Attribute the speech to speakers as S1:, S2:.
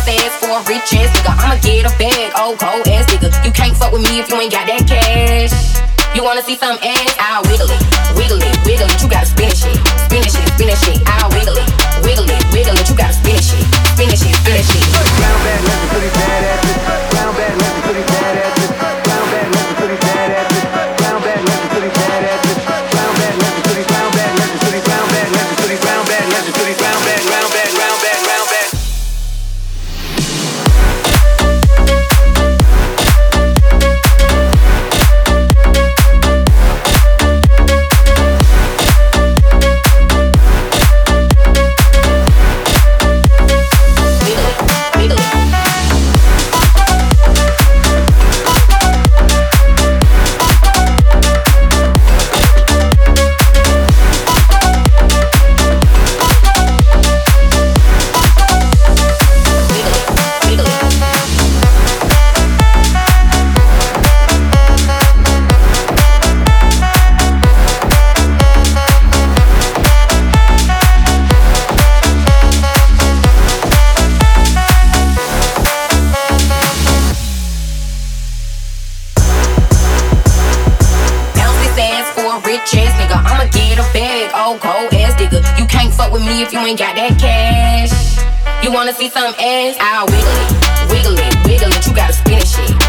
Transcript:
S1: this ass for a rich ass nigga. I'ma get a bag, old cold ass nigga. You can't fuck with me if you ain't got that cash. You wanna see some ass? I'll wiggle it, wiggle it, wiggle it. You gotta spin that shit, spin that shit, spin that shit. I'll wiggle it, wiggle it, wiggle it. You gotta spin that shit, spin that shit, spin that shit.
S2: Brown bag, left pretty bad asses. Brown bag, left pretty bad asses. Brown bag, left pretty bad asses. Brown bag, left pretty bad asses. Brown bag, left pretty brown bag, left pretty brown bag, left pretty brown bag, left pretty brown bag, round bag, round bag, round bag.
S1: Rich ass nigga, I'ma get a bag, old cold ass nigga. You can't fuck with me if you ain't got that cash. You wanna see some ass? I'll wiggle it, wiggle it, wiggle it. You gotta spin that shit,